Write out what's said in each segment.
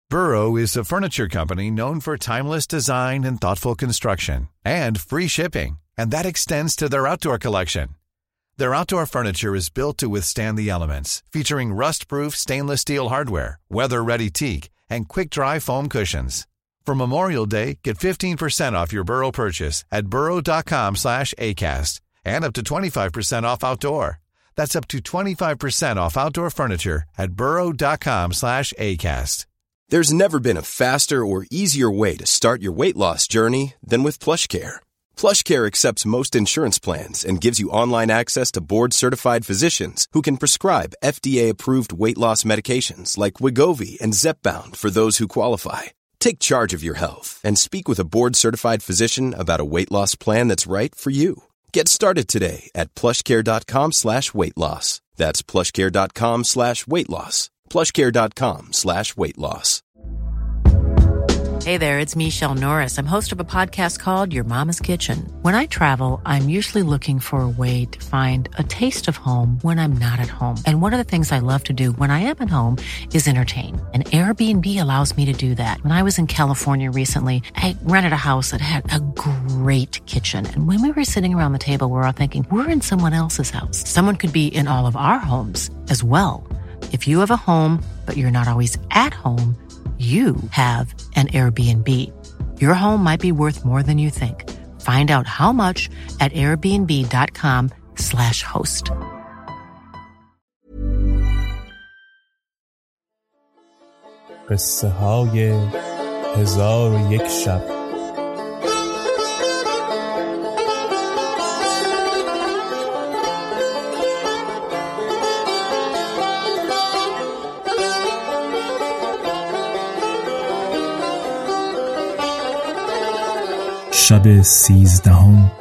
Burrow is a furniture company known for timeless design and thoughtful construction, and free shipping, and that extends to their outdoor collection. Their outdoor furniture is built to withstand the elements, featuring rust-proof stainless steel hardware, weather-ready teak, and quick-dry foam cushions. For Memorial Day, get 15% off your Burrow purchase at burrow.com/acast, and up to 25% off outdoor. That's up to 25% off outdoor furniture at burrow.com/acast. There's never been a faster or easier way to start your weight loss journey than with PlushCare. PlushCare accepts most insurance plans and gives you online access to board-certified physicians who can prescribe FDA-approved weight loss medications like Wegovy and Zepbound for those who qualify. Take charge of your health and speak with a board-certified physician about a weight loss plan that's right for you. Get started today at plushcare.com/weightloss. That's plushcare.com/weightloss. plushcare.com/weightloss. Hey there, it's Michelle Norris. I'm host of a podcast called Your Mama's Kitchen. When I travel, I'm usually looking for a way to find a taste of home when I'm not at home. And one of the things I love to do when I am at home is entertain. And Airbnb allows me to do that. When I was in California recently, I rented a house that had a great kitchen. And when we were sitting around the table, we were all thinking, we're in someone else's house. Someone could be in all of our homes as well. If you have a home, but you're not always at home, you have an Airbnb. Your home might be worth more than you think. Find out how much at airbnb.com/host. قصه های 1001 شب. شب 13.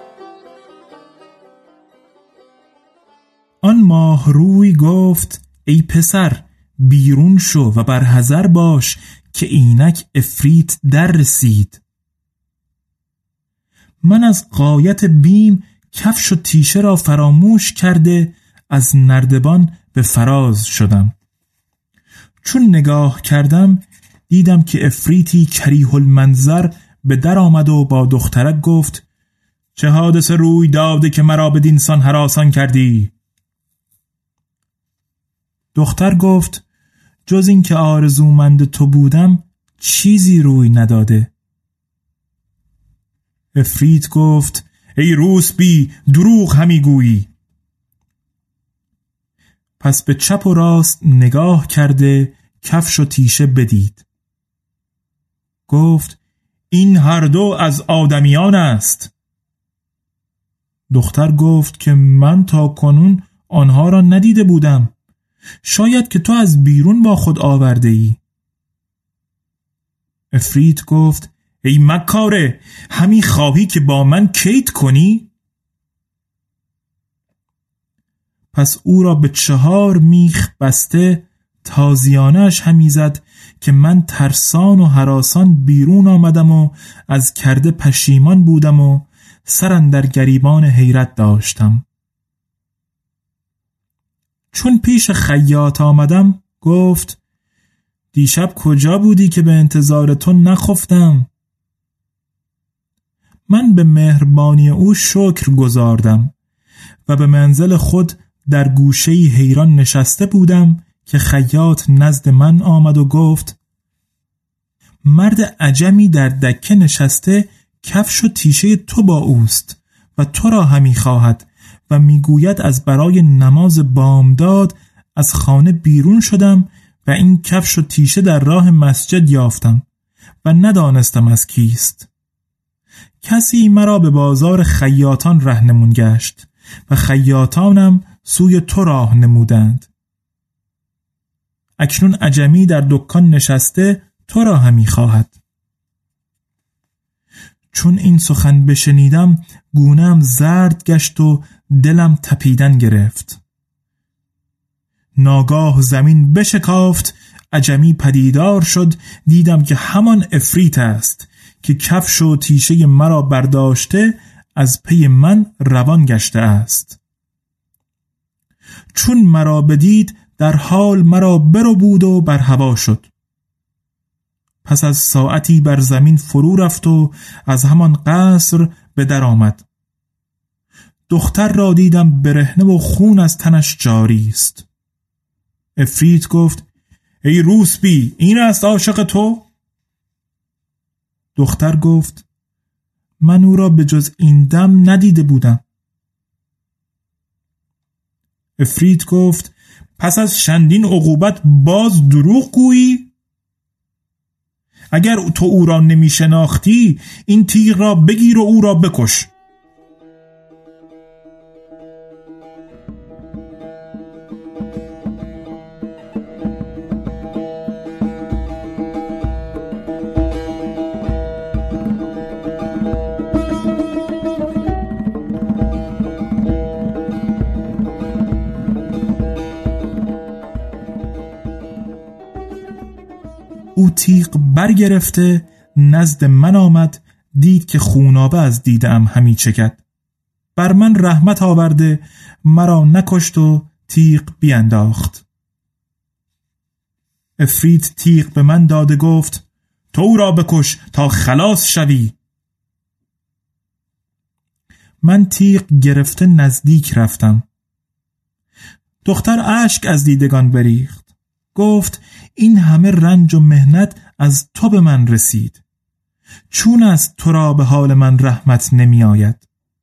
آن ماه روی گفت ای پسر بیرون شو و بر حذر باش که اینک عفریت در رسید. من از غایت بیم کفش و تیشه را فراموش کرده از نردبان به فراز شدم. چون نگاه کردم دیدم که عفریتی کریه المنظر به در آمد و با دخترک گفت چه حادثه روی داده که مرا بدین سان هراسان کردی؟ دختر گفت جز این که آرزومند تو بودم چیزی روی نداده. عفریت گفت ای روسبی دروغ همی گویی. پس به چپ و راست نگاه کرده کفش و تیشه بدید. گفت این هر دو از آدمیان است. دختر گفت که من تا کنون آنها را ندیده بودم. شاید که تو از بیرون با خود آورده ای. عفریت گفت ای مکاره همی خواهی که با من کید کنی؟ پس او را به 4 میخ بسته تازیانش همی زد که من ترسان و هراسان بیرون آمدم و از کرده پشیمان بودم و سر اندر گریبان حیرت داشتم. چون پیش خیاط آمدم گفت دیشب کجا بودی که به انتظار تو نخفتم؟ من به مهربانی او شکر گزاردم و به منزل خود در گوشه‌ای حیران نشسته بودم که خیاط نزد من آمد و گفت مرد عجمی در دکه نشسته کفش و تیشه تو با اوست و تو را همی خواهد و میگوید از برای نماز بامداد از خانه بیرون شدم و این کفش و تیشه در راه مسجد یافتم و ندانستم از کیست. کسی مرا به بازار خیاطان رهنمون گشت و خیاطانم سوی تو راه نمودند. اکنون عجمی در دکان نشسته تو را همی خواهد. چون این سخن بشنیدم گونه‌ام زرد گشت و دلم تپیدن گرفت. ناگاه زمین بشکافت، عجمی پدیدار شد. دیدم که همان عفریت است که کفش و تیشه مرا برداشته از پی من روان گشته است. چون مرا بدید در حال مرا برو بود و بر هوا شد. پس از ساعتی بر زمین فرو رفت و از همان قصر به در آمد. دختر را دیدم برهنه و خون از تنش جاری است. عفریت گفت: ای روسبی، این است عاشق تو؟ دختر گفت: من او را به جز این دم ندیده بودم. عفریت گفت: پس از چندین عقوبت باز دروغ گویی؟ اگر تو او را نمی شناختی این تیغ را بگیر و او را بکش. او تیغ برگرفته نزد من آمد، دید که خونابه از دیدم همی چکد. بر من رحمت آورده مرا نکشت و تیغ بینداخت. عفریت تیغ به من داده گفت: تو او را بکش تا خلاص شوی. من تیغ گرفته نزدیک رفتم. دختر اشک از دیدگان بریخت. گفت: این همه رنج و مهنت از تو به من رسید، چون از تو را به حال من رحمت نمی آید؟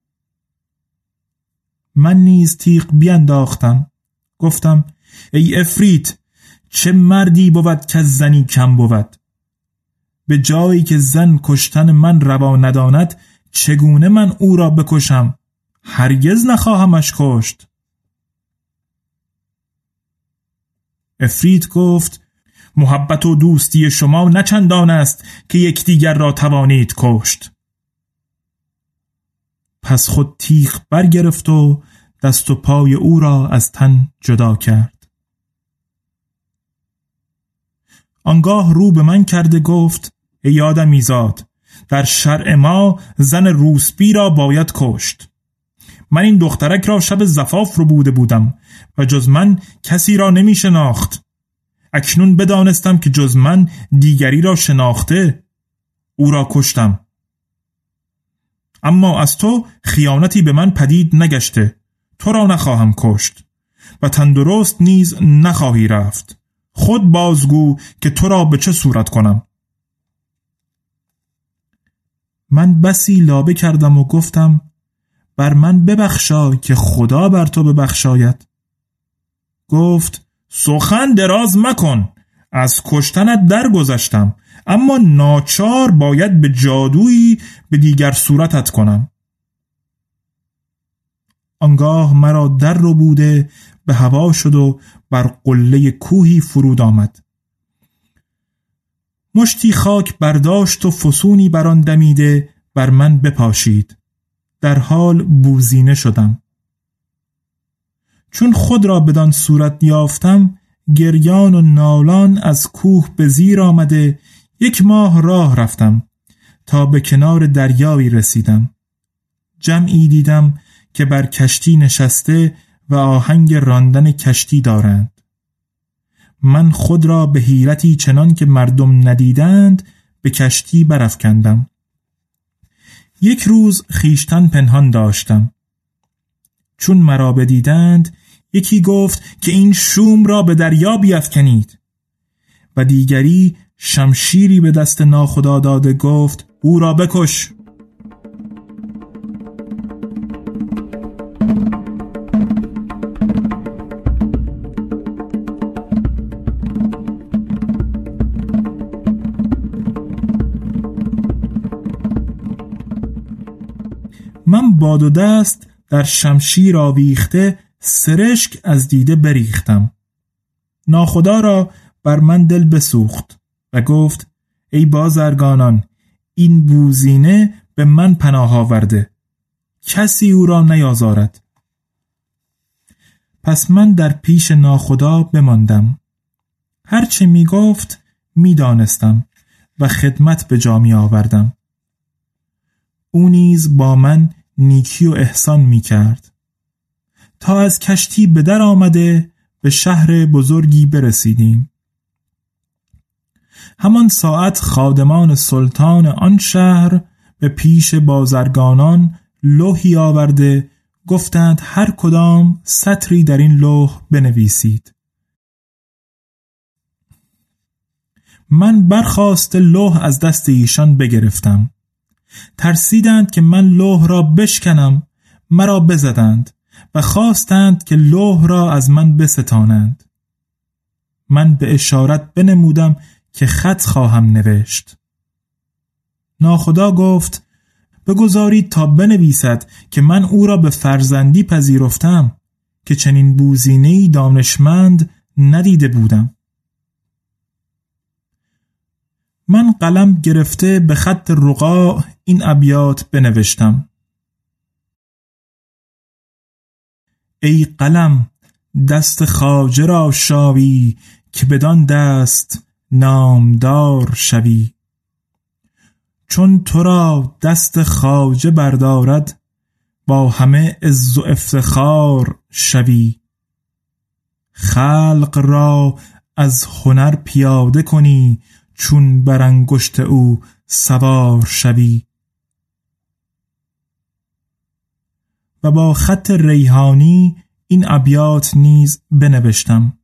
من نیز تیغ بینداختم. گفتم: ای عفریت، چه مردی بود که از زنی کم بود؟ به جایی که زن کشتن من روا نداند چگونه من او را بکشم؟ هرگز نخواهمش کشت. عفریت گفت: محبت و دوستی شما نه چندان است که یکدیگر را توانید کشت. پس خود تیغ برگرفت و دست و پای او را از تن جدا کرد. آنگاه رو به من کرده گفت: ای آدمیزاد، در شرع ما زن روسبی را باید کشت. من این دخترک را شب زفاف رو بوده بودم و جز من کسی را نمی شناخت. اکنون بدانستم که جز من دیگری را شناخته، او را کشتم. اما از تو خیانتی به من پدید نگشته، تو را نخواهم کشت و تندرست نیز نخواهی رفت. خود بازگو که تو را به چه صورت کنم. من بسی لابه کردم و گفتم: بر من ببخشای که خدا بر تو ببخشاید. گفت: سخن دراز مکن، از کشتنت درگذشتم، اما ناچار باید به جادویی به دیگر صورتت کنم. آنگاه مرا در رو بوده به هوا شد و بر قله کوهی فرود آمد. مشتی خاک برداشت و فسونی بر آن دمیده بر من بپاشید. در حال بوزینه شدم. چون خود را بدان صورت یافتم، گریان و نالان از کوه به زیر آمده 1 ماه راه رفتم تا به کنار دریایی رسیدم. جمعی دیدم که بر کشتی نشسته و آهنگ راندن کشتی دارند. من خود را به حیرتی چنان که مردم ندیدند به کشتی برافکندم. 1 روز خیشتن پنهان داشتم. چون مرا بدیدند یکی گفت که این شوم را به دریا بیفکنید و دیگری شمشیری به دست ناخدا داده گفت: او را بکش. من باد و دست در شمشیر آویخته سرشک از دیده بریختم. ناخدا را بر من دل بسوخت و گفت: ای بازرگانان، این بوزینه به من پناه آورده، کسی او را نیازارد. پس من در پیش ناخدا بماندم. هرچه می گفت می دانستم و خدمت به جا می آوردم. او نیز با من نیکی و احسان می کرد تا از کشتی به در آمده به شهر بزرگی برسیدیم. همان ساعت خادمان سلطان آن شهر به پیش بازرگانان لوحی آورده گفتند هر کدام سطری در این لوح بنویسید. من برخاست لوح از دست ایشان بگرفتم. ترسیدند که من لوح را بشکنم، مرا بزدند و خواستند که لوح را از من بستانند. من به اشارت بنمودم که خط خواهم نوشت. ناخدا گفت بگذارید تا بنویسد که من او را به فرزندی پذیرفتم، که چنین بوزینه‌ای دانشمند ندیده بودم. من قلم گرفته به خط رقاع این ابیات بنوشتم: ای قلم دست خواجه را شاوی، که بدان دست نامدار شوی. چون تو را دست خواجه بردارد، با همه عز و افتخار شوی. خلق را از هنر پیاده کنی، چون بر انگشت او سوار شوی. و با خط ریحانی این ابیات نیز بنوشتم: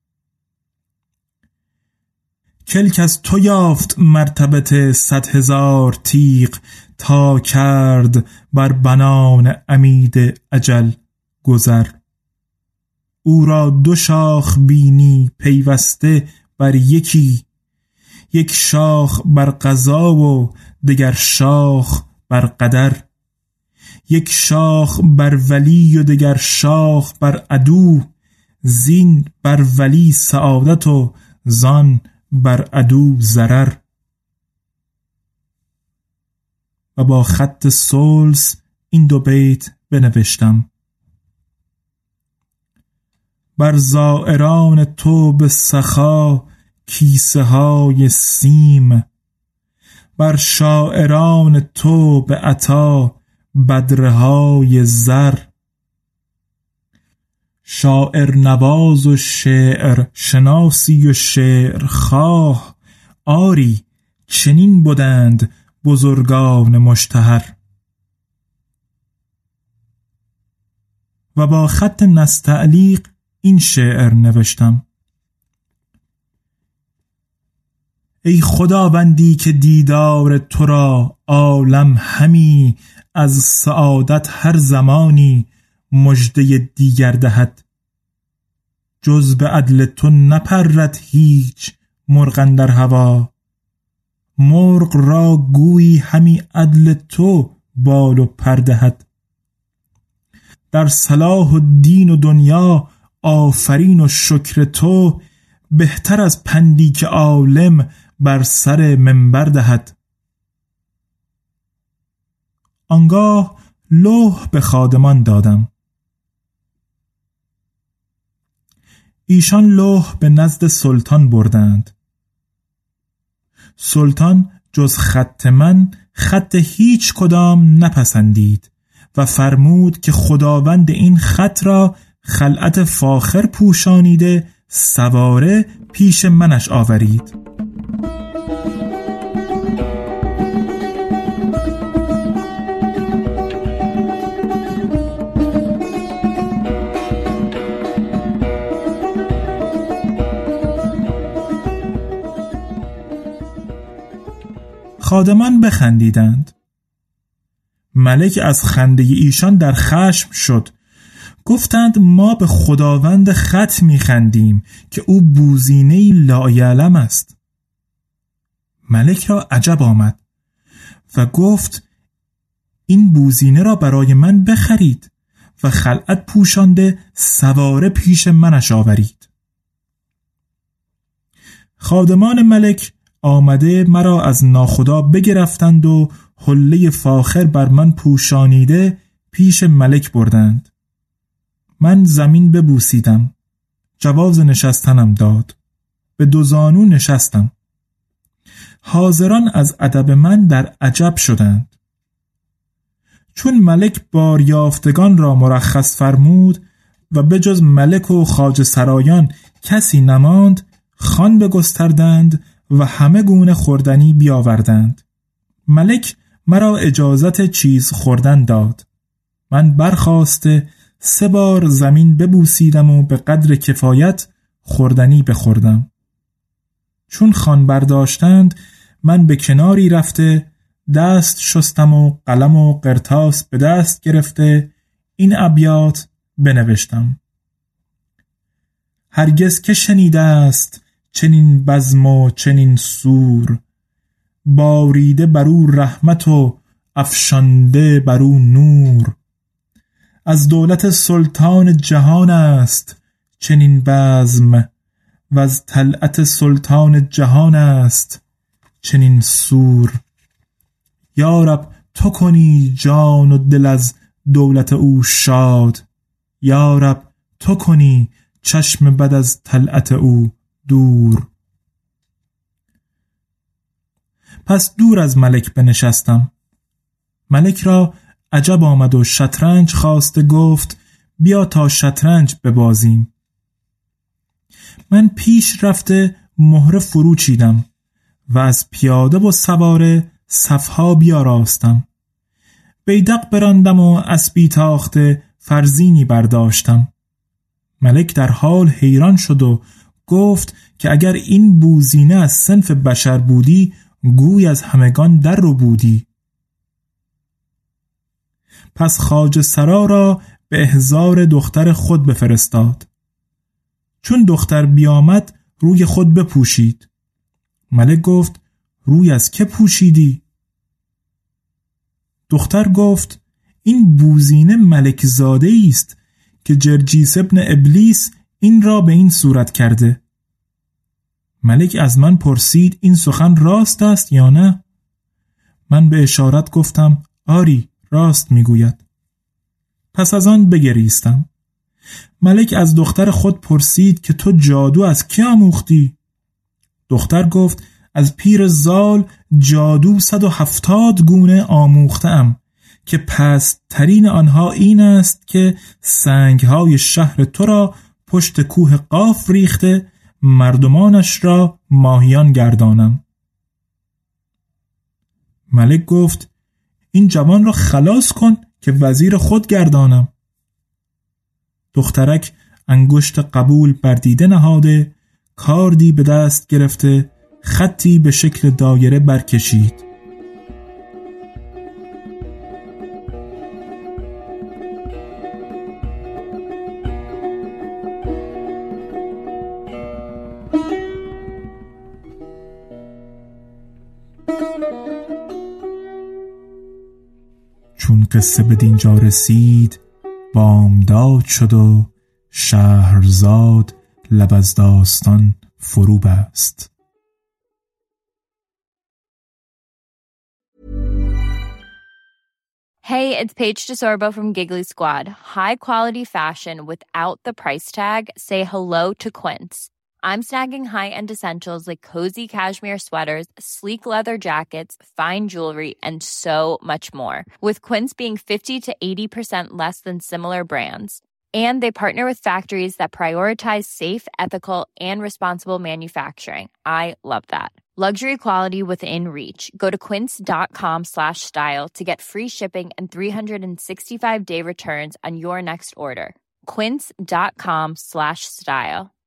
کلک از تو یافت مرتبت 100,000 تیغ، تا کرد بر بنان عمید اجل گذر. او را 2 شاخ بینی پیوسته بر یکی، یک شاخ بر قضا و دگر شاخ بر قدر. یک شاخ بر ولی و دگر شاخ بر عدو، زین بر ولی سعادت و زان بر عدو ضرر. و با خط سلس این 2 بیت بنوشتم: بر زائران تو به سخا کیسه های سیم، بر شاعران تو به عطا بدره های زر. شاعر نواز و شعر شناسی و شعر خواه، آری چنین بودند بزرگان مشتهر. و با خط نستعلیق این شعر نوشتم: ای خداوندی که دیدار تو را عالم همی، از سعادت هر زمانی مژده دیگر دهد. جز به عدل تو نپرد هیچ مرغ اندر هوا، مرغ را گویی همی عدل تو بال و پر دهد. در صلاح و دین و دنیا آفرین و شکر تو، بهتر از پندی که عالم بر سر منبر دهد. آنگاه لوح به خادمان دادم. ایشان لوح به نزد سلطان بردند. سلطان جز خط من خط هیچ کدام نپسندید و فرمود که خداوند این خط را خلعت فاخر پوشانیده سواره پیش منش آورید. خادمان بخندیدند. ملک از خنده ایشان در خشم شد. گفتند ما به خداوند خط میخندیم که او بوزینه‌ای لایعلم است. ملک را عجب آمد و گفت این بوزینه را برای من بخرید و خلعت پوشانده سواره پیش منش آورید. خادمان ملک آمده مرا از ناخدا بگرفتند و حله فاخر بر من پوشانیده پیش ملک بردند. من زمین ببوسیدم. جواز نشستنم داد. به 2 زانو نشستم. حاضران از ادب من در عجب شدند. چون ملک باریافتگان را مرخص فرمود و به جز ملک و خواجه سرایان کسی نماند، خوان بگستردند و همه گونه خوردنی بیاوردند. ملک مرا اجازت چیز خوردن داد. من برخاسته 3 بار زمین ببوسیدم و به قدر کفایت خوردنی بخوردم. چون خوان برداشتند من به کناری رفته دست شستم و قلم و قرطاس به دست گرفته این ابیات بنوشتم: هرگز که شنیده است چنین بزم و چنین سور، باریده برو رحمت و افشانده برو نور. از دولت سلطان جهان است چنین بزم، و از طلعت سلطان جهان است چنین سور. یا رب تو کنی جان و دل از دولت او شاد، یا رب تو کنی چشم بد از طلعت او دور. پس دور از ملک بنشستم. ملک را عجب آمد و شطرنج خواسته گفت بیا تا شطرنج ببازیم. من پیش رفته مهره فرو چیدم و از پیاده و سواره صفها بیاراستم. بیدق براندم و اسبی تاخته فرزینی برداشتم. ملک در حال حیران شد و گفت که اگر این بوزینه از صنف بشر بودی گوی از همگان در رو بودی. پس خواجه سرا را به احضار دختر خود بفرستاد. چون دختر بیامد روی خود بپوشید. ملک گفت روی از که پوشیدی؟ دختر گفت این بوزینه ملک زاده است که جرجیس ابن ابلیس این را به این صورت کرده. ملک از من پرسید این سخن راست است یا نه؟ من به اشارت گفتم آری راست میگوید. پس از آن بگریستم. ملک از دختر خود پرسید که تو جادو از کی آموختی؟ دختر گفت از پیر زال جادو 170 گونه آموختم که پست ترین آنها این است که سنگهای شهر تو را پشت کوه قاف ریخته مردمانش را ماهیان گردانم. ملک گفت این جوان را خلاص کن که وزیر خود گردانم. دخترک انگشت قبول بر دیده نهاده کاردی به دست گرفته خطی به شکل دایره برکشید. چون قصه به دینجا رسید بامداد شد و شهرزاد لب از داستان فرو بست. Hey, it's Paige DeSorbo from Giggly Squad. High quality fashion without the price tag. Say hello to Quince. I'm snagging high-end essentials like cozy cashmere sweaters, sleek leather jackets, fine jewelry, and so much more. With Quince being 50 to 80% less than similar brands. And they partner with factories that prioritize safe, ethical, and responsible manufacturing. I love that. Luxury quality within reach. Go to quince.com/style to get free shipping and 365-day returns on your next order. Quince.com/style.